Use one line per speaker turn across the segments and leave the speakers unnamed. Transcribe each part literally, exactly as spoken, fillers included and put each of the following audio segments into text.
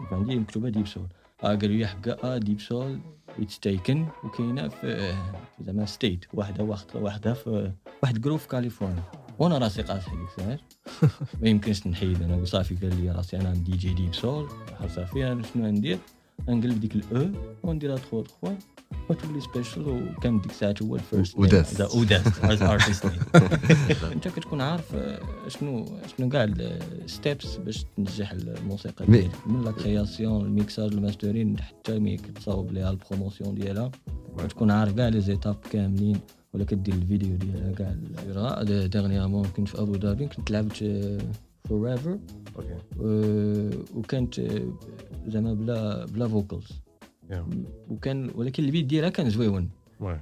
كانت عندي مكتوبه ديب سول. اه قالوا لي حقا اه ديب سول اتس تيكن وكاينه في زعما ستيت واحده واحده واحده في واحد جروب في كاليفورنيا. وانا راسي قاصح هذيك الساعه ما يمكنش نحيد انا صافي. قال لي راسي انا دي جي ديب سول صافي انا شنو ندير نقلب ديك الاو ونديرها تخو تخو وتولي سبيشال. وكان ديك الساعه هو الفيرست
وداس.
ذا وداس از ارتست. انت كتكون عارف شنو شنو كاع الستيبس باش تنجح الموسيقى ديالك من لا كرياسيون الميكساج الماسترين حتى ملي كتصاوب ليها البروموسيون ديالها كتكون عارف كاع لي زيتاب كاملين ولا كدير الفيديو ديالها كاع. ديرنيامون كنت في ابو ظبي كنت لعبت فورايفر
اوكي
وكانت زعما بلا بلا فوكالز وكان ولكن البيت ديالها كان زويون.
وي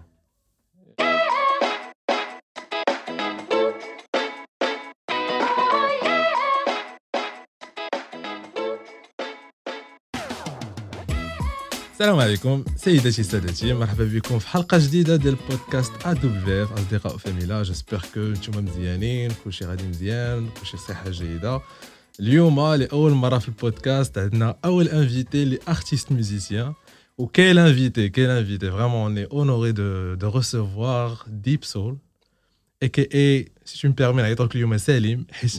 السلام عليكم سيداتي سادتي، مرحبا بكم في حلقه جديده ديال بودكاست ا دبليو اف اصدقاء فاميلا. جيسبر كو نتوما مزيانين كلشي غادي مزيان كلشي صحه جيده. اليوم لاول مره في البودكاست عندنا اول انفيتي لي ارتيست ميوزيسيان. وكاين انفيتي كاين انفيتي فريمون اوني اونوري دو دو ريسيفوار ديب سول اي كي اي سي تو مبيرمي نعيطوك اليوم سليم حيت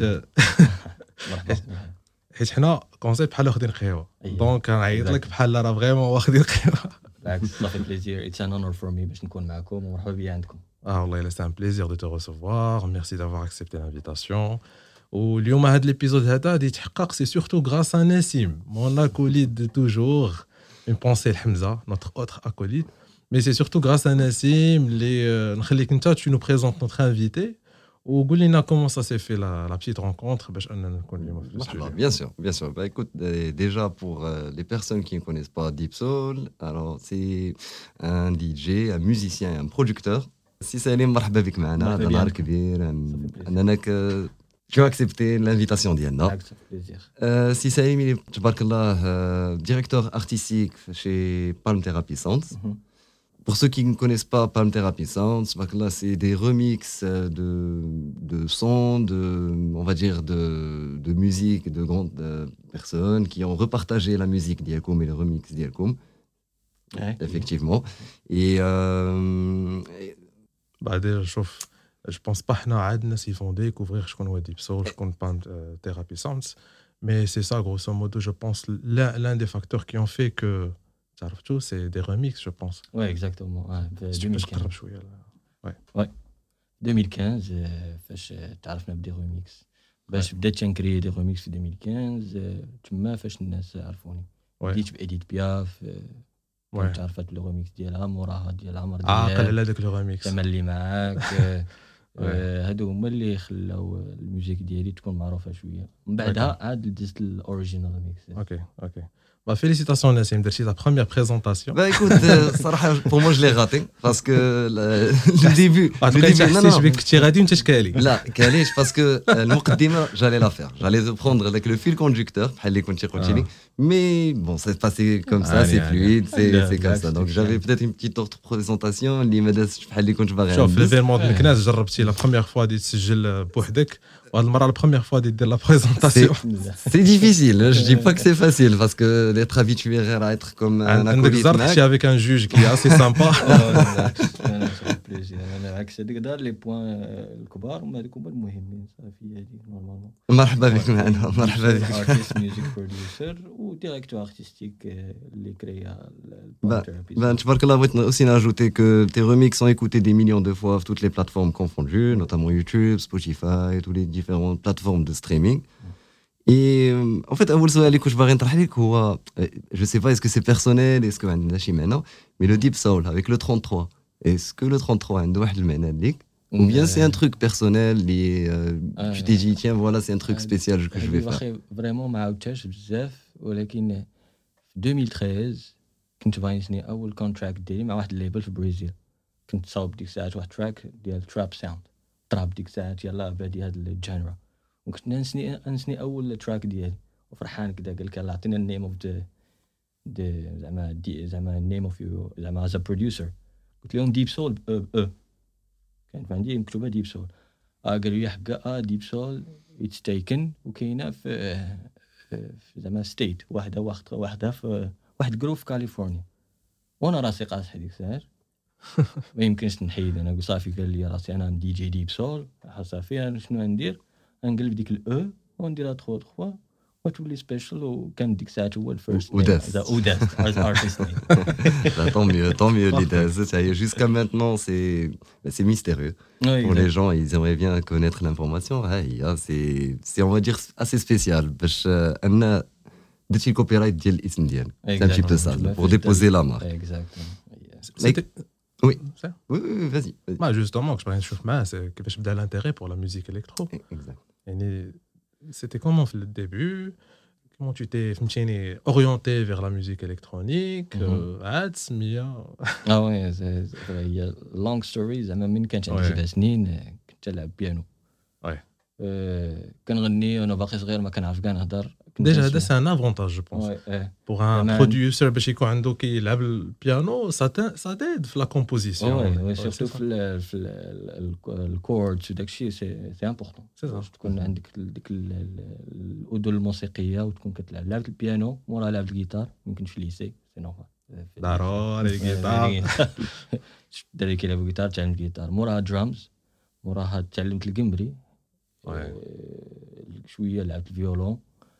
حيت حنا كونسيبت بحال واخدين قهوه دونك نعيط لك بحال راه فريمون واخدين قهوه.
بالعكس صافي بليزير اتس ان اونر فور مي باش نكون معكم ومرحبا بيا عندكم.
اه والله الا سي ان بليزير دو تو ريسيفوار ميرسي دافوار اكسبتي لانفيتاسيون. واليوم هذا ليبيزود هذا غادي يتحقق سي سورتو غراس ا نسيم مون اكوليد دو توجور اون بونسي لحمزه نوتر اوتر اكوليد مي سي سورتو غراس ا نسيم اللي نخليك انت تو نو بريزونت نوتر انفيتي وقول لنا comment ça s'est fait la, la petite rencontre باش اننا نكون اليوم في الاستوديو.
Bien sûr, bien sûr. Bah écoute, euh, déjà pour euh, les personnes qui ne connaissent pas Deep Soul, alors c'est un D J, un musicien et un producteur. Si Salim, مرحبا بك معنا. هذا نهار كبير انك tu as accepté l'invitation ديالنا.
Avec plaisir.
Euh, si Salim, il est تبارك الله euh, directeur artistique chez Palm Therapy Sounds.
Mhm.
Pour ceux qui ne connaissent pas Palm Therapy Sounds, là, c'est des remixes de, de sons, de, on va dire de, de musique de grandes euh, personnes qui ont repartagé la musique d'Yalkoum et le remix d'Yalkoum.
Ouais.
Effectivement. Et, euh, et...
Bah déjà, chauffe. Je pense pas que nous avons des ils vont découvrir ce qu'on voit Deep Soul, ce qu'on Palm Therapy Sounds. Mais c'est ça, grosso modo, je pense, l'un, l'un des facteurs qui ont fait que تعرفتو سي دي ريميكس جو بونس.
وي اكزاكتومون اه في
ألفين وخمسطاش قرب شويه.
وي وي ألفين وخمسطاش فاش تعرفنا بدي ريميكس باش بديت تنكري دي ريميكس في ألفين وخمسطاش تما فاش الناس عرفوني. بديت بإديت بياف كنت عرفت لو ريميكس ديالها موراها ديال عمر ديال
عاقل
على داك لو ريميكس
تملي معاك. هادو هما اللي خلاو الميوزيك ديالي تكون معروفه شويه. من بعدها عاد دزت الاوريجينال ريميكس.
اوكي اوكي Bah, félicitations Nassim, c'est ta première présentation.
Bah écoute, euh, pour moi je l'ai raté parce que le, le début,
ah, le début non non, je vais que tu radis une تشكالي.
لا كاليش parce que المقدمة j'allais la faire. J'allais prendre avec le fil conducteur بحال اللي كنتي قلتي لي. Mais bon, c'est passé comme ça, c'est fluide, c'est c'est comme ça. Donc j'avais peut-être une petite autre présentation اللي ما دازتش بحال اللي كنت باغي.
شوف ليفينمون ديال الناس جربتي لا بروميير فوا دي تسجل بوحدك وهاد المره لا بروميير فوا دي دير لا بريزونطاسيون.
C'est difficile, je dis pas que c'est facile parce que d'être habitué à être comme un acolyte.
عندك زرت avec un juge qui est assez sympa.
انا عكس هذيك دار لي بوين الكبار وما هذوك هما المهمين صافي هذيك نورمالمون.
مرحبا بك معنا مرحبا بك.
ارتيست ميوزيك بروديوسر وديريكتور ارتستيك اللي كريا
Ben, تبارك الله بغيت aussi ajouter que tes remixes sont écoutés des millions de fois sur toutes les plateformes confondues, notamment YouTube, Spotify, toutes les différentes plateformes de streaming. Et en fait, أول سؤال اللي كنت باغي نطرح لك هو je sais pas est-ce que c'est personnel est-ce que عندنا شي معنى mais le Deep Soul avec le trente-trois est-ce que le trente-trois عنده واحد المعنى ليك ou bien c'est un truc personnel اللي tu t'es dit tiens voilà c'est un truc spécial que je vais faire.
Vraiment ما عاودتهاش بزاف ولكن في ألفين وثلاثة عشر كنت باغي نسني اول كونتراكت ديالي مع واحد الليبل في برازيل. كنت صاوب ديك الساعات واحد تراك ديال تراب ساوند تراب ديك الساعات يلاه بادي هاد الجانرا وكنت نسني نسني اول تراك ديالي وفرحان كذا قال لك عطينا النيم اوف ذا زعما دي زعما النيم اوف يو زعما از ا بروديوسر. قلت لهم ديب سول اه اه كانت عندي مكتوبه ديب سول. اه قالوا لي حقا اه ديب سول اتس تيكن وكاينه في في زعما ستيت واحده واحد واحده في واحد جروف في كاليفورنيا وانا راسي قاصح هذيك الساعه ما يمكنش نحيد انا صافي قال لي راسي انا دي جي ديب سول صافي انا شنو ندير نقلب ديك الاو ونديرها تخو تخو وتولي سبيشال وكان ديك الساعه هو الفيرست
وداس
وداس از ارتست
tant mieux tant mieux les Daz ça y est jusqu'à maintenant c'est c'est mystérieux pour les gens ils aimeraient bien connaître l'information c'est c'est on va dire assez spécial باش ان درتي الكوبيرايت ديال الاسم ديالك c'est un petit peu ça pour déposer la marque
exactement
oui oui oui vas-y
ما justement je بغيت نشوف معاه كيفاش بدا l'intérêt pour la musique électro يعني c'était comment au début comment tu t'es فهمتيني orienté vers la musique électronique عاد سميه
اه وي هي لونغ ستوري زعما من كانت عندي سبع سنين كنت نلعب بيانو
وي
كنغني وانا باقي صغير ما كنعرف كاع نهضر
ديجا هذا سي ان افونتاج جو بونس بوغ ان بروديوسر باش يكون عنده كيلعب البيانو سا سا ديد في لا كومبوزيسيون
وي سيرتو في في الكوردز وداك الشيء سي سي امبورطون باش تكون عندك ديك الاذن الموسيقيه وتكون كتلعب لعبه البيانو مورا لعبه الجيتار يمكن في الليسي سي نورمال
ضروري الجيتار
الدراري كيلعبوا الجيتار تعلم الجيتار موراها درامز موراها تعلمت القمبري شويه لعبت الفيولون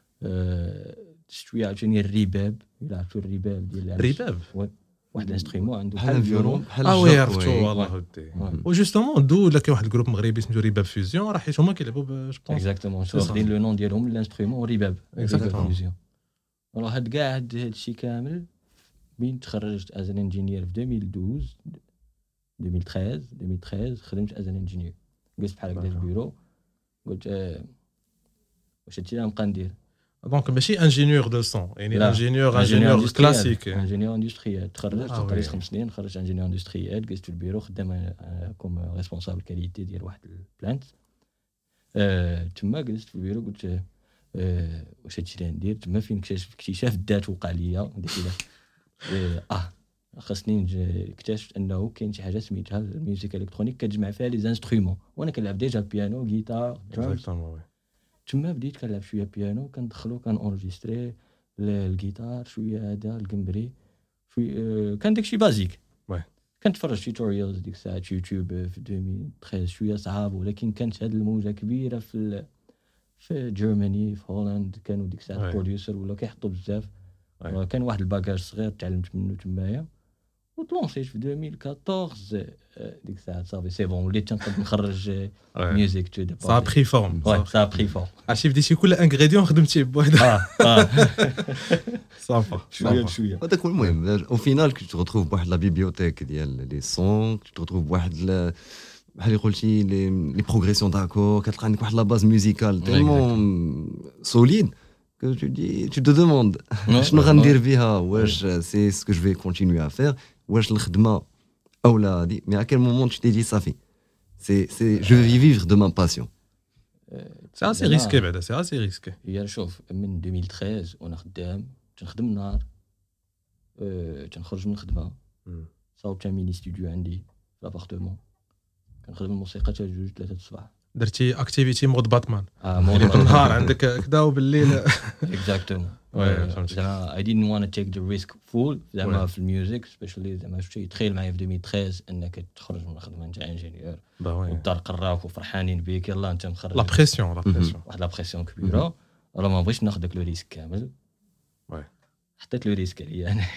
شويه عاوتاني الرباب لعبت الرباب ديال
الرباب
واحد الانسترومون عنده
بحال الفيولون بحال
اه وي عرفتو والله ودي وجوستومون دو ولا كاين واحد الجروب مغربي سميتو رباب فيوزيون راه حيت هما كيلعبوا جو بونس
اكزاكتومون واخدين لو نون ديالهم الانسترومون رباب فيوزيون راه هاد كاع هاد الشيء كامل بين تخرجت از ان انجينير في ألفين واثناش ألفين وثلاثة خدمت از ان انجينير جلست بحال هكا في البيرو قلت واش هادشي اللي نبقى ندير
دونك ماشي انجينيور دو سون يعني انجينيور انجينيور كلاسيك
انجينيور اندستريال تخرجت قريت خمس سنين خرجت انجينيور اندستريال جلست في البيرو خدام كوم ريسبونسابل كاليتي ديال واحد البلانت تما جلست في البيرو قلت واش هادشي اللي ندير تما فين اكتشاف الذات وقع ليا ديك اه خاصني اكتشفت انه كاين شي حاجه سميتها الميوزيك الكترونيك كتجمع فيها لي انسترومون وانا كنلعب ديجا البيانو جيتار درامز تما بديت كنلعب شويه بيانو كندخلو كان اونجستري الجيتار شويه هذا القمبري شويه كان داكشي بازيك كنتفرج في توتوريالز ديك الساعه يوتيوب في ألفين وثلاثة عشر شويه صعاب ولكن كانت هذه الموجه كبيره في في جيرماني في هولندا كانوا ديك الساعه بروديوسر ولا كيحطوا بزاف كان واحد الباكاج صغير تعلمت منه تمايا وطلونسيت في ألفين وأربعطاش ديك الساعه صافي سي بون وليت تنقدر نخرج ميوزيك تو دي
سا بري فورم
سا بري فورم
عرفتي بديتي كل انغريديون خدمتيه بوحده
اه اه
صافا
شويه شويه
هذاك هو المهم او فينال كي تروف بواحد لا بيبيوتيك ديال لي سون تروف بواحد بحال اللي قلتي لي لي بروغريسيون داكور كتلقى عندك واحد لا باز ميوزيكال تيلمون سوليد que tu dis tu te demandes شنو غندير بها واش سي ce que je vais continuer à faire واش الخدمه او لا هادي mais à quel moment tu t'es dit ça fait c'est c'est je vais vivre de ma passion
c'est assez risqué بعدا c'est assez risqué
هي شوف من ألفين وثلاثة وانا خدام تنخدم النهار أه تنخرج من الخدمه صاوبت ميني ستوديو عندي في لابارتمون كنخدم الموسيقى حتى جوج ثلاثة الصباح
درتي اكتيفيتي مود باتمان
اه مود
النهار عندك كذا وبالليل
اكزاكتومون زعما I didn't want to take the risk full زعما في الميوزيك سبيشالي زعما شتي تخيل معايا في ألفين وثلاثة انك تخرج من الخدمه نتاع انجينيور والدار قراوك وفرحانين بيك يلاه انت مخرج
لا بريسيون لا بريسيون
واحد لا بريسيون كبيره راه ما بغيتش ناخذ داك لو ريسك كامل
وي
حطيت لو ريسك عليا انا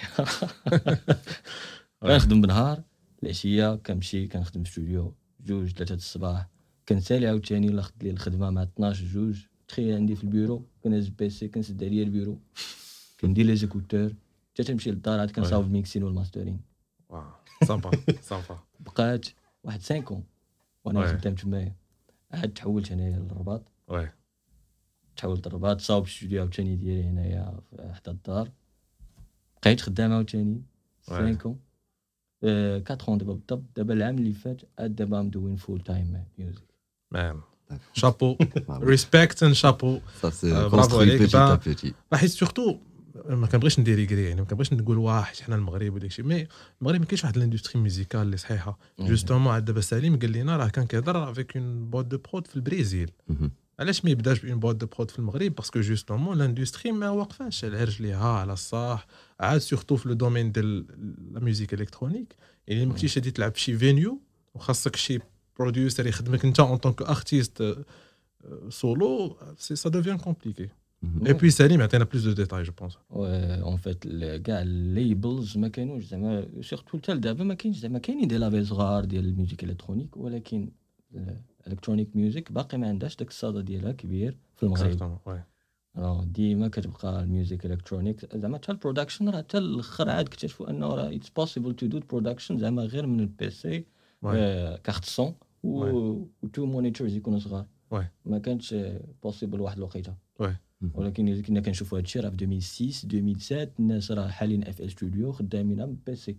كنخدم بالنهار العشيه كنمشي كنخدم في الاستوديو جوج ثلاثة الصباح كنسالي عاوتاني لا خدت لي الخدمه مع اثناش جوج تخيل عندي في البيرو كنهز بيسي كنسد عليا البيرو كندير لي زيكوتور حتى تمشي للدار عاد كنصاوب الميكسين والماسترين
واو صافا صافا
بقات واحد خمسة وانا خدام تمايا عاد تحولت هنايا للرباط
وي
تحولت للرباط صاوب الاستوديو عاوتاني ديالي هنايا حتى الدار بقيت خدام عاوتاني خمسة أه quatre ans دابا بالضبط دابا العام اللي فات عاد دابا ام دوين فول تايم ميوزيك
مان شابو ريسبكت اند شابو
برافو عليك
حيت سورتو ما كنبغيش ندير كري يعني ما كنبغيش نقول واه حنا المغرب وداك الشيء مي المغرب ما كاينش واحد الاندستري ميوزيكال اللي صحيحه جوستومون عاد دابا سليم قال لنا راه كان كيهضر افيك اون بوت دو برود في البرازيل علاش ما يبداش بين بواد دو برود في المغرب باسكو جوستومون لاندستري ما واقفاش على رجليها على الصح عاد سورتو في لو دومين ديال لا ميوزيك الكترونيك يعني ما كنتيش غادي تلعب في شي فينيو وخاصك شي بروديوسر يخدمك انت اون طونك ارتيست سولو سي سا دوفيان كومبليكي اي بي سليم عطينا بلوس دو ديتاي جو بونس
اون فيت كاع الليبلز ما كانوش زعما سورتو حتى دابا ما كاينش زعما كاينين دي لابيل صغار ديال الميوزيك الكترونيك ولكن الكترونيك ميوزيك باقي ما عندهاش داك الصدى ديالها كبير في المغرب راه ديما كتبقى الميوزيك الكترونيك زعما حتى البرودكشن راه حتى الاخر عاد اكتشفوا انه راه اتس بوسيبل تو دو برودكشن زعما غير من البي سي كارت سون و تو مونيتورز يكونوا صغار ما كانش بوسيبل واحد الوقيته ولكن كنا كنشوفوا هادشي راه في ألفين وستة ألفين وسبعة الناس راه حالين اف ال ستوديو خدامين بالبي سي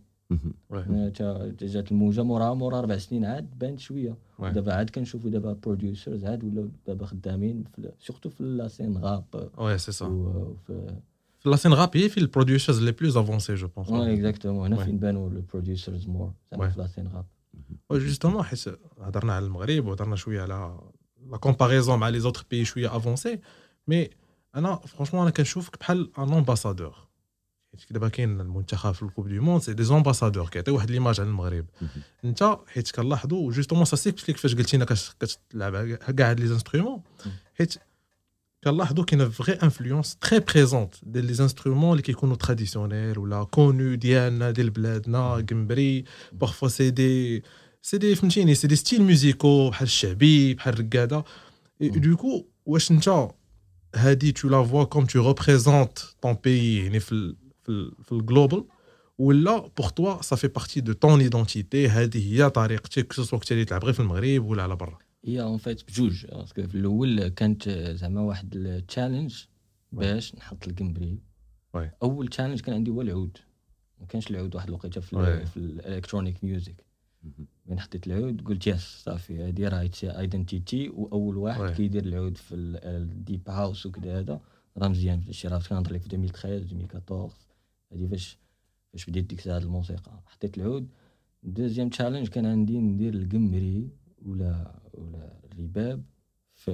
تا جات الموجه مورا مورا اربع سنين عاد بانت شويه دابا عاد كنشوفوا دابا بروديوسرز عاد ولاو دابا خدامين سورتو في لا سين راب
وي سي سا
في
لا سين راب هي في البروديوسرز لي بلوز افونسي جو بونس
وي اكزاكتومون هنا فين بانوا البروديوسرز مور زعما في لا سين راب
جوستومون حيت هضرنا على المغرب وهضرنا شويه على لا كومباريزون مع لي زوتر بيي شويه افونسي مي انا فرانشمون انا كنشوفك بحال ان امباسادور حيت دابا كاين المنتخب في الكوب دو موند سي دي امباسادور كيعطيو واحد ليماج على المغرب انت حيت كنلاحظوا جوستومون سا سيكسبليك فاش قلتينا كتلعب كاع هاد لي انسترومون حيت كنلاحظوا كاينه فغي انفلونس تري بريزونت ديال لي انسترومون اللي كيكونوا تراديسيونيل ولا كونو ديالنا ديال بلادنا كمبري بارفوا سي دي سي دي فهمتيني سي دي ستيل ميوزيكو بحال الشعبي بحال الركاده دوكو واش انت هادي تو لا فوا كوم تو ريبريزونت طون بيي يعني في في في الجلوبال ولا بور توا سا في بارتي دو طون ايدونتيتي هذه هي طريقتك كسوا كنتي اللي تلعب غير في المغرب ولا على برا
هي اون فيت بجوج باسكو في الاول كانت زعما واحد التشالنج باش نحط الكمبري اول تشالنج كان عندي هو العود ما كانش العود واحد الوقيته في في الالكترونيك ميوزك من حطيت العود قلت يس صافي هذه راه ايدنتيتي واول واحد كيدير العود في الديب هاوس وكذا هذا راه مزيان في الشراف كنهضر لك في ألفين وثلاثة عشر ألفين وأربعطاش هذه فاش فاش بديت ديك الساعه الموسيقى حطيت العود دوزيام تشالنج كان عندي ندير القمري ولا ولا الرباب في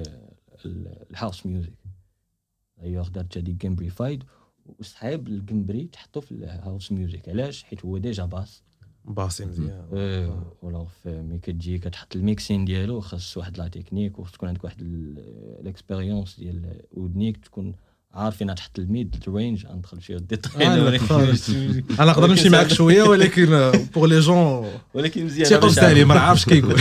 الهاوس ميوزك ايوا درت هذيك قمبريفايد وصحاب القمبري تحطو في الهاوس ميوزك علاش حيت هو ديجا باس
باسي مزيان
ايه ولا ملي كتجي كتحط الميكسين ديالو خاص واحد لا تكنيك وخاص تكون عندك واحد الاكسبيريونس ديال ودنيك تكون عارفين تحط الميد الرينج ندخل شي ديتاي
انا نقدر نمشي معاك شويه ولكن بور لي جون
ولكن مزيان
تيقول سالي ما عارفش كيقول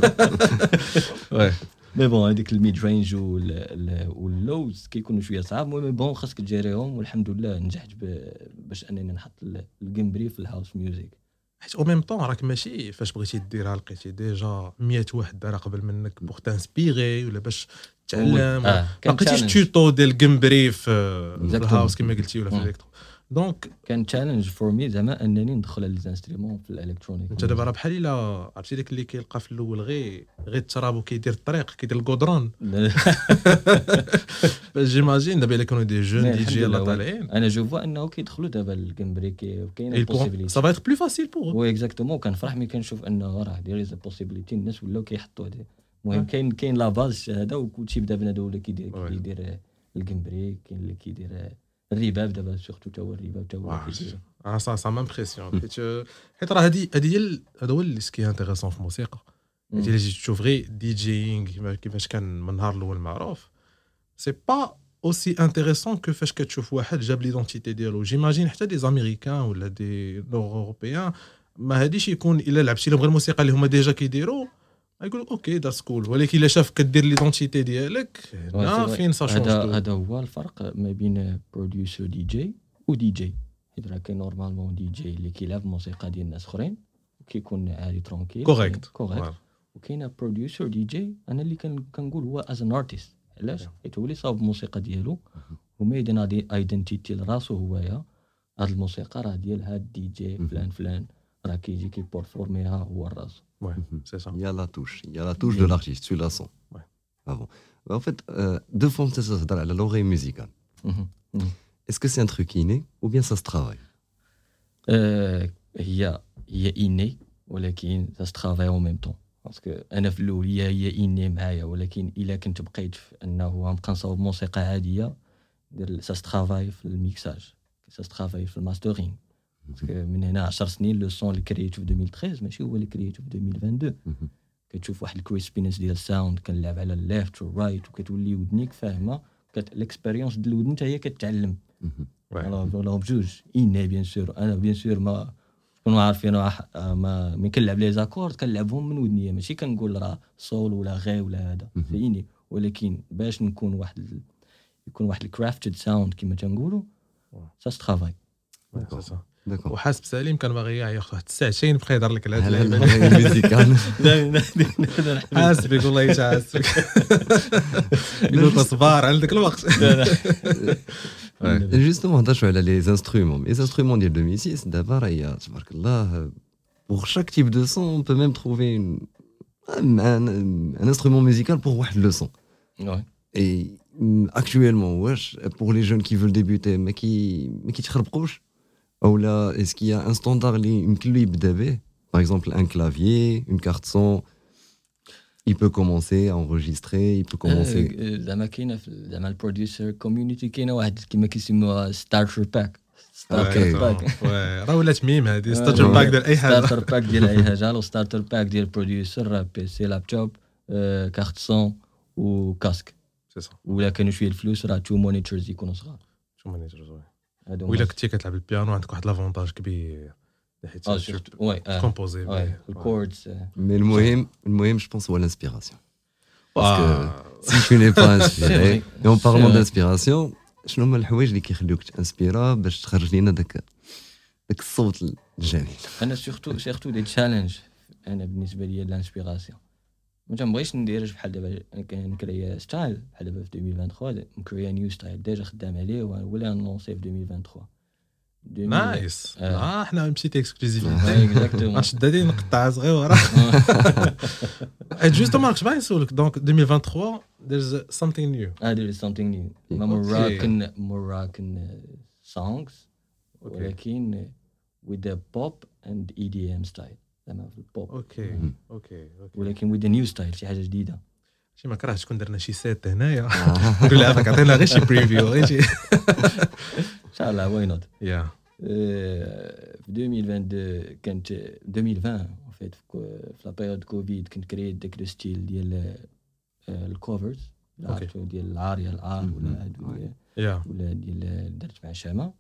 وي مي بون هذيك الميد رينج واللوز كيكونوا شويه صعاب مي بون خاصك تجيريهم والحمد لله نجحت باش انني نحط القمبري في الهاوس ميوزك
حيت او ميم طون راك ماشي فاش بغيتي ديرها لقيتي ديجا مية واحد دار قبل منك بوغ تانسبيري ولا باش تعلم ما لقيتيش توتو ديال القمبري في الهاوس كما قلتي ولا في الالكترو دونك
كان تشالنج فور مي زعما انني ندخل على ليزانسترومون في الالكترونيك
انت دابا راه بحال الا عرفتي داك اللي كيلقى في الاول غير غير التراب وكيدير الطريق كيدير الكودرون باش جيماجين دابا الا كانوا دي جون دي جي يلاه طالعين
انا جو فوا انه كيدخلوا دابا القمبري وكاينه البوسيبيليتي
سا فا ايتر بلو فاسيل بور
وي اكزاكتومون كنفرح ملي كنشوف انه راه داير لي بوسيبيليتي الناس ولاو كيحطوا هذه المهم كاين كاين لا باز هذا وكلشي بدا بنادم ولا كيدير كيدير القمبري كاين اللي كيدير الرباب دابا سورتو تا هو الرباب تا هو كيدير
اه سا سا مامبريسيون حيت حيت راه هذه هذه هي هذا هو اللي سكي انتريسون في الموسيقى حيت الا جيت تشوف غير دي جيينغ كيفاش كان من النهار الاول معروف سي با اوسي انتريسون كو فاش كتشوف واحد جاب ليدونتيتي ديالو جيماجين حتى دي زاميريكان ولا دي نور اوروبيان ما هاديش يكون الا لعبتي لهم غير الموسيقى اللي هما ديجا كيديروا يقول اوكي داس كول ولكن الا شاف كدير ليدونتيتي ديالك هنا فين سا شونج
هذا هذا هو الفرق ما بين بروديوسر دي جي ودي جي حيت راه كاين نورمالمون دي جي اللي كيلعب موسيقى ديال الناس اخرين وكيكون عادي ترونكيل
كوريكت
كوريكت وكاين بروديوسر دي جي انا اللي كنقول هو از ان ارتست علاش حيت هو اللي صاوب الموسيقى ديالو وميدنا دي ايدنتيتي لراسو هويا هاد الموسيقى راه ديال هاد دي جي فلان فلان راه كيجي كيبورفورميها هو الراس.
Ouais, c'est ça.
Il y a la touche, il y a la touche de l'artiste, tu la sens.
Ouais.
Ah bon. En fait, euh, deux fois, ça se donne à l'oreille musicale. Est-ce que c'est un truc inné ou bien ça se travaille?
euh, هي هي inné ولكن ça se travaille en même temps. باسكو انا في الاول هي هي اني معايا ولكن الا كنت بقيت في انه غنبقى نصاوب موسيقى عاديه دير سا سترافاي في الميكساج سا سترافاي في الماسترينغ باسكو من هنا عشر سنين لو سون اللي كرييتو في ألفين وثلاثة عشر ماشي هو اللي كرييتو في ألفين واثنين وعشرين كتشوف واحد الكريسبينس ديال الساوند كنلعب على الليفت والرايت وكتولي ودنيك فاهمه كت الاكسبيريونس ديال الودن حتى هي كتعلم والله بجوج اني بيان سور انا بيان سور ما كنوا عارفين راه ما ملي كنلعب لي زاكورد كنلعبهم من ودنيا ماشي كنقول راه سول ولا غي ولا هذا فيني ولكن باش نكون واحد ال... يكون واحد الكرافتد ساوند كما تنقولوا سا سترافاي
داكور وحاسب سليم كان باغي ياخذ واحد الساعتين بقى يهضر لك على هاد
اللعيبه الميوزيكال
حاسب يقول الله يتحاسب يقول لك صبار عندك الوقت
جوستومون هضرتوا على لي انسترومون لي انسترومون ديال ألفين وستة دابا راهي تبارك الله pour chaque type de son on peut même trouver une un, un instrument musical pour واحد le son
ouais
et actuellement واش pour les jeunes qui veulent débuter ما كي ما كيتخربقوش ou là est-ce qu'il y a un standard اللي يمكن له يبدا به par exemple un clavier une carte son il peut commencer à enregistrer il peut commencer
زعما كاينه زعما البروديوسر كوميونيتي كاينه واحد كما كيسموها ستارتر باك
ستارتر باك راه ولات ميم هذه ستارتر باك ديال اي حاجه
ستارتر باك ديال اي حاجه لو ستارتر باك ديال البروديوسر راه بي سي لابتوب كارت سون وكاسك
سي صح
ولا كانوا شويه الفلوس راه تو مونيتورز يكونوا صغار
تو مونيتورز وإلا كنتي كتلعب البيانو عندك واحد لافونتاج كبير حيت
اه سورت وي
كومبوزي
الكوردز
مي المهم المهم جو بونس هو الانسبيراسيون باسكو سي تو ني با انسبيري اون بارلون دانسبيراسيون شنو هما الحوايج اللي كيخليوك تانسبيرا باش تخرج لينا داك داك الصوت الجميل
انا سورتو سورتو دي تشالنج انا بالنسبه لي الانسبيراسيون ما تنبغيش ندير بحال دابا كنكريا ستايل بحال دابا في ألفين وثلاثة نكريا نيو ستايل ديجا خدام عليه ولا نونسي في ألفين وثلاثة
نايس اه حنا مشيتي اكسكلوزيف
اكزاكتومون
شدادي نقطع صغيره جوستومون كنت باغي نسولك دونك ألفين وثلاثة there's something new
اه there is something new Moroccan Moroccan songs ولكن with the pop and E D M style زعما في البوب
اوكي اوكي
ولكن with the new style شي حاجه جديده
شي ما كرهتش كون درنا شي سيت هنايا نقول لها عطينا غير شي بريفيو غير شي
ان شاء الله واي نوت
يا
في ألفين واثنين وعشرين كانت ألفين وعشرين فيت في لا بيريود كوفيد كنت كريت داك لو ستيل ديال الكوفرز ديال العاريه الار ولا هادو ولا ديال درت مع شامه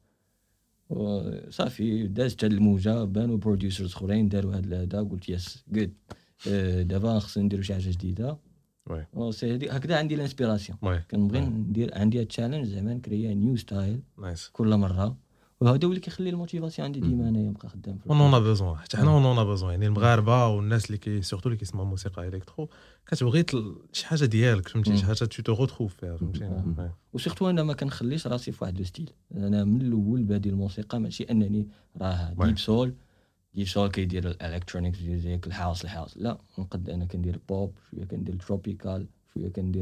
وصافي دازت هاد الموجه بانوا بروديوسرز اخرين داروا هاد هذا قلت يس جود دابا خصنا نديروا شي حاجه جديده وي سي هكذا عندي الانسبيراسيون كنبغي ندير عندي تشالنج زعما نكريا نيو ستايل كل مره وهذا هو اللي كيخلي الموتيفاسيون عندي ديما انايا نبقى خدام في
اون اون بيزون حتى حنا اون اون بيزون يعني المغاربه والناس اللي كي سورتو اللي كيسمعوا موسيقى الكترو كتبغي شي حاجه ديالك فهمتي شي حاجه تو تو روتروف فيها فهمتي
وسورتو انا ما كنخليش راسي في واحد لو ستيل انا من الاول بادي الموسيقى ماشي انني راه ديب سول ديب سول كيدير الالكترونيك ميوزيك الهاوس الهاوس لا نقد انا كندير بوب شويه كندير تروبيكال شويه كندير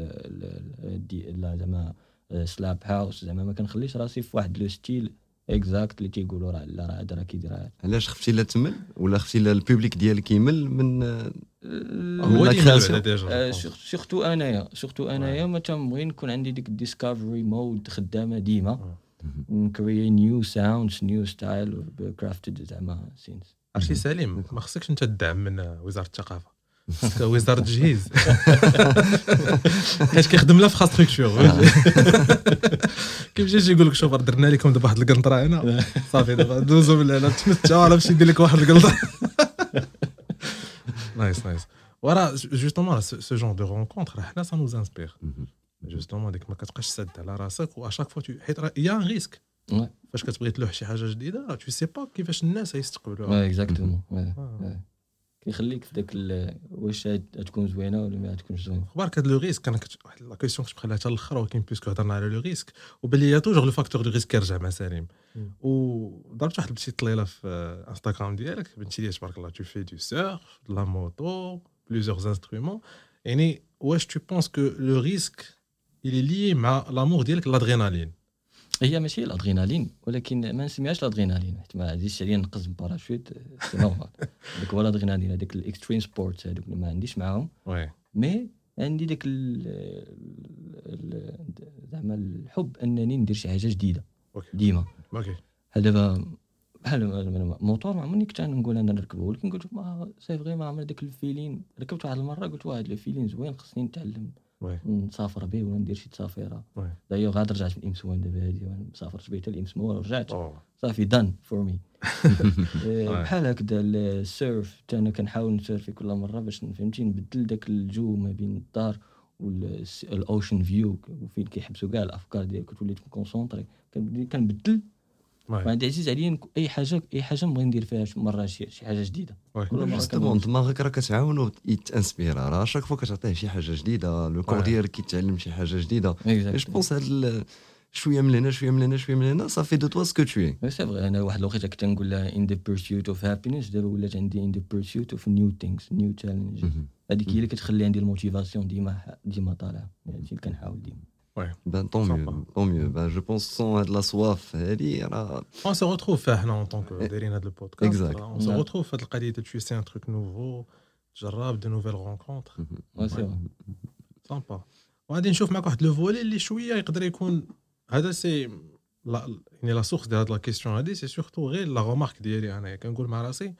لا زعما سلاب هاوس زعما ما كنخليش راسي في واحد لو ستيل اكزاكت اللي تيقولوا راه لا راه هذا راه كيديرها.
علاش خفتي لا تمل ولا خفتي لا البوبليك ديالك يمل من
هو لا كرياسيون
سورتو انايا سورتو انايا ما تنبغي نكون عندي ديك الديسكفري مود خدامه ديما نكري نيو ساوندز نيو ستايل كرافتد زعما سينس.
عرفتي سليم ما خصكش انت تدعم من وزاره الثقافه خصك وزاره التجهيز حيت كيخدم لا في خاص ستركتور كيف جاي يقول لك شوف درنا لكم دابا واحد القنطره هنا صافي دابا دوزو من هنا تمتعوا راه باش يدير لك واحد القنطره. نايس نايس ورا جوستومون سو جون دو رونكونتر راه حنا سا نوز انسبير جوستومون ديك ما كتبقاش سد على راسك واشاك فوا حيت راه يا ريسك فاش كتبغي تلوح شي حاجه جديده راه تو سي با كيفاش الناس غيستقبلوها.
اكزاكتومون كيخليك في داك واش تكون زوينه ولا ما تكونش زوينه.
خبارك هاد لو ريسك انا كنت واحد لا كيسيون كنت بخليها حتى الاخر ولكن بيسكو هضرنا على لو ريسك وباللي توجور لو فاكتور دو ريسك كيرجع مع سليم وضربت واحد البتي طليله في انستغرام ديالك بنتي ديال تبارك الله تو في دو سيرف لا موتو بليزيور انسترومون يعني واش تو بونس كو لو ريسك il est lié مع لامور ديالك الادرينالين
هي ماشي الادرينالين ولكن ما نسميهاش الادرينالين حيت ما عنديش عليا نقز باراشوت سي نورمال داك هو الادرينالين هذاك الاكستريم سبورت هذوك ما عنديش معاهم
وي
مي عندي داك زعما الحب انني ندير شي حاجه جديده ديما
اوكي
هذا دابا بحال موطور ما عمرني كنت نقول انا نركبه ولكن قلت ما سي فري ما عمر داك الفيلين ركبت واحد المره قلت واحد الفيلين زوين خصني نتعلم نسافر به ولا ندير شي تسافيره دايوغ عاد رجعت من الامسوان دابا هادي وانا مسافرت به حتى الامسوان ورجعت صافي دان فور مي بحال هكذا السيرف حتى انا كنحاول نسيرفي كل مره باش فهمتي نبدل داك الجو ما بين الدار والاوشن فيو وفين كيحبسوا كاع الافكار ديالك كتولي كونسونطري كنبدل عندي عزيز عليا اي حاجه اي حاجه نبغي ندير فيها مره شي شي حاجه جديده
جوستومون دماغك راه كتعاونو يتانسبيرا راه شاك فوا كتعطيه شي حاجه جديده لو كور ديالك كيتعلم شي حاجه جديده جو بونس هاد شويه من هنا شويه من هنا شويه من هنا صافي دو توا سكو تو اي
سي فري انا واحد الوقيته كنت نقول لها ان ذا بيرسيوت اوف هابينس دابا ولات عندي ان ذا بيرسيوت اوف نيو ثينكس نيو تشالنج هذيك هي اللي كتخلي عندي الموتيفاسيون ديما ديما طالعه هادشي اللي كنحاول ديما
Ouais.
Ben tant mieux, tant mieux. Ben je pense sans de la soif,
on se retrouve là en tant que derrière le podcast.
Exact.
On se retrouve fait le qualité de tuer un truc nouveau, جرب de nouvelles rencontres.
Ouais, c'est vrai.
Sympa. وغادي نشوف معك واحد لو فولي اللي شويه يقدر يكون هذا سي لا يعني لا سورس ديال هاد لا كيسيون هادي سي سورتو غير لا رومارك ديالي انا كنقول مع راسي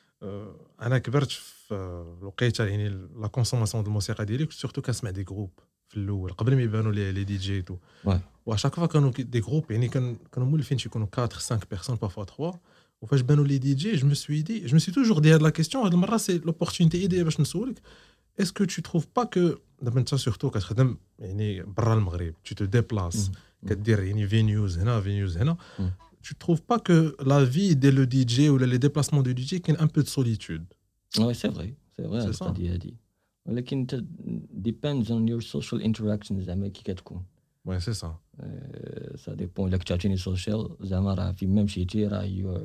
انا كبرت في الوقيته يعني لا كونسوماسيون ديال الموسيقى ديالي كنت سورتو كنسمع دي جروب في الاول قبل ما يبانوا لي لي دي جي تو واشاك فوا كانوا دي جروب يعني كان كانوا مولفين شي يكونوا أربعة خمسة بيرسون بارفوا ثلاثة وفاش بانوا لي دي جي جو مي سوي دي جو مي سوي توجور دي هاد لا كيسيون هاد المره سي لوبورتونيتي ايديا باش نسولك اسكو تو تروف با كو دابا انت سورتو كتخدم يعني برا المغرب tu te déplaces كدير يعني فينيوز هنا فينيوز هنا tu trouves pas que la vie de le دي جي ولا les déplacements du دي جي كاين un peu de solitude
ouais c'est vrai c'est vrai القضيه هادي ولكن depends on your social interactions زعما كي كتكون
وي سي سا
سا ديبون الا كنتي سوشيال زعما راه فين ما مشيتي راه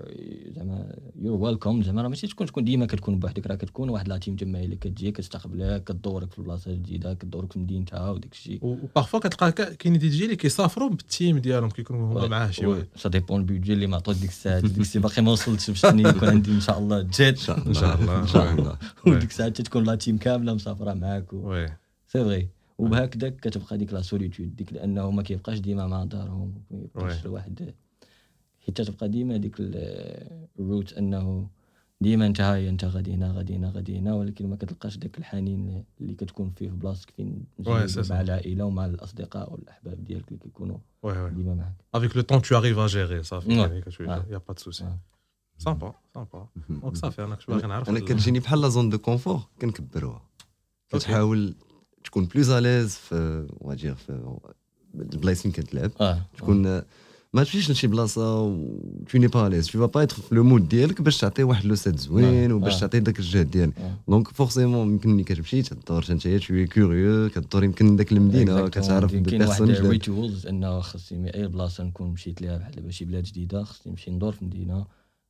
زعما يور ويلكم زعما راه ماشي تكون تكون ديما كتكون بوحدك راه كتكون واحد لا تيم جماعي اللي كتجي كتستقبلك كدورك في البلاصه الجديده كدورك في مدينتها وداك الشيء
وبارفو كتلقى كاين دي جي اللي كيسافروا بالتيم ديالهم كيكونوا هما معاه شي واحد
سا ديبون البيدجي اللي معطوك ديك الساعه ديك الساعه باقي ما وصلتش باش يكون عندي ان شاء الله جيت
ان شاء الله ان شاء الله
وديك الساعه تكون لا تيم كامله مسافره معاك
وي
سي فري وبهكذاك كتبقى ديك لا سوليتود ديك لانه ما كيبقاش ديما مع دارهم ما يبقاش الواحد حيت تبقى ديما ديك الروت انه ديما انت هاي انت غادي هنا غادي هنا غادي هنا ولكن ما كتلقاش داك الحنين اللي كتكون فيه في بلاصتك فين مع العائله ومع الاصدقاء والاحباب ديالك اللي كيكونوا ديما معاك
افيك لو طون تو اريف ا جيري صافي يعني كتقول يا با دو سوسي سامبا سامبا دونك صافي انا كنت باغي نعرف
انا كتجيني بحال لا زون دو كونفور كنكبروها كتحاول تكون بلوز اليز في واجير في البلايص فين كتلعب تكون ما تمشيش لشي بلاصه و tu n'es pas à l'aise tu vas pas être في لو مود ديالك باش تعطي واحد لو سيت زوين وباش تعطي داك الجهد ديالك دونك فورسيمون يمكن ملي كتمشي تدور انت tu es curieux كدور يمكن داك المدينه كتعرف
بيرسون جديد ريتوالز انه خصني اي بلاصه نكون مشيت ليها بحال دابا شي بلاد جديده خصني نمشي ندور في مدينه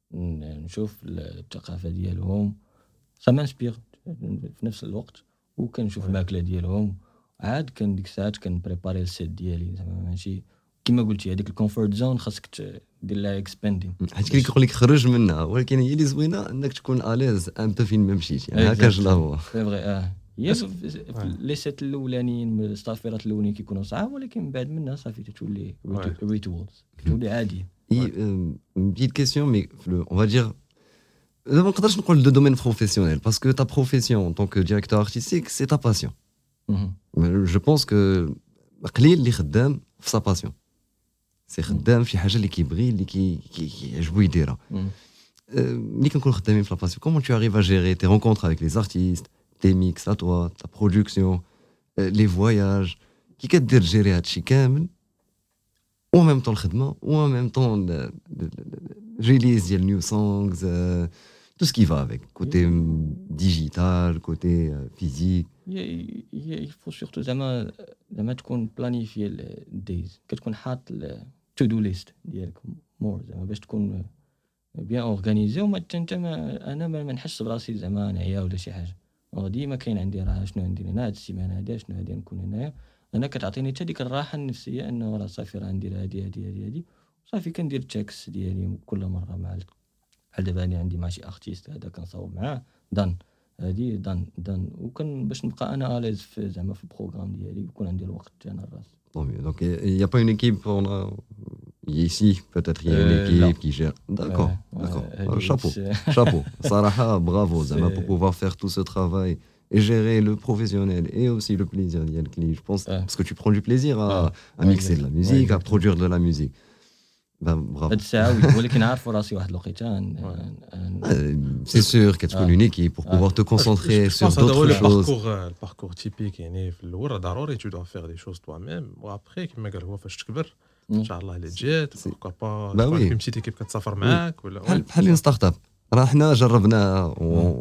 نشوف الثقافه ديالهم سا مانسبير في نفس الوقت وكنشوف الماكله ديالهم عاد كان ديك الساعات كنبريباري السيت ديالي زعما ماشي كما قلتي هذيك الكومفورت زون خاصك دير لها اكسباندين
حيت كاين كيقول لك خرج منها ولكن هي اللي زوينه انك تكون اليز ان بو فين ما مشيتي يعني هكا جلا هو
سي فري اه هي لي سيت الاولانيين الصافيرات الاولين كيكونوا صعاب ولكن من بعد منها صافي تولي ريتوالز تولي عادي
اي بيت كيسيون مي اون فا دير ما نقدرش نقول دو دومين بروفيسيونيل باسكو تا بروفيسيون ان طونك ديريكتور ارتستيك سي تا باسيون جو بونس كو قليل اللي خدام في سا باسيون سي خدام في حاجه اللي كيبغي اللي كيعجبو يديرها ملي كنكون خدامين في لا باسيون كومون تو اريف ا جيري تي رونكونتر افيك لي زارتيست تي ميكس ا توا تا برودكسيون لي فواياج كي كدير جيري هادشي كامل و ميم طون الخدمه و ميم طون ريليز ديال نيو سونغز tout ce qui va avec côté digital côté physique
il faut surtout زعما زعما تكون بلانيفي الدايز كتكون حاط تو دو ليست ديالك مور زعما باش تكون بيان اورغانيزي وما انت انا ما نحس براسي زعما نعيا ولا شي حاجه ديما كاين عندي راه شنو ندير هنا هاد السيمانه هادي شنو هادي نكون هنايا انا كتعطيني حتى ديك الراحه النفسيه انه راه صافي راه ندير هادي هادي هادي هادي صافي كندير تشيكس ديالي كل مره مع بحال دابا انا عندي مع شي ارتيست هذا كنصاوب معاه دان هادي دان دان وكان باش نبقى انا اليز في زعما في البروغرام ديالي ويكون عندي الوقت انا الراس.
Donc il n'y a pas une équipe on a ici peut-être il y a une
Euh,
équipe
non.
qui gère. D'accord,
Ouais,
d'accord.
ouais,
Euh,
elle
chapeau,
est-
chapeau. Saraha, bravo Zama
C'est-
pour pouvoir faire tout ce travail et gérer le professionnel et aussi le plaisir d'y aller. Je pense
Ouais.
parce que tu prends du plaisir à,
Ouais.
à
Ouais,
mixer de la
exactement.
musique,
Ouais,
à
exactement.
produire de la musique. Ben bravo.
هاد الساعه وي ولكن عارف راسي واحد الوقيته ن- ن-
Euh, C'est sûr qu'il faut
Ah.
une équipe pour
Ah.
pouvoir te concentrer sur d'autres
le
choses.
parcours le parcours typique يعني في الاول ضروري tu dois faire des choses toi-même وابخي كما قال هو فاش تكبر ان شاء الله اللي جات
سي-
pourquoi pas
Bah
تكون
oui.
عندك بتيت ايكيب كتسافر معاك ولا
بحال بحال une start-up. راه حنا جربنا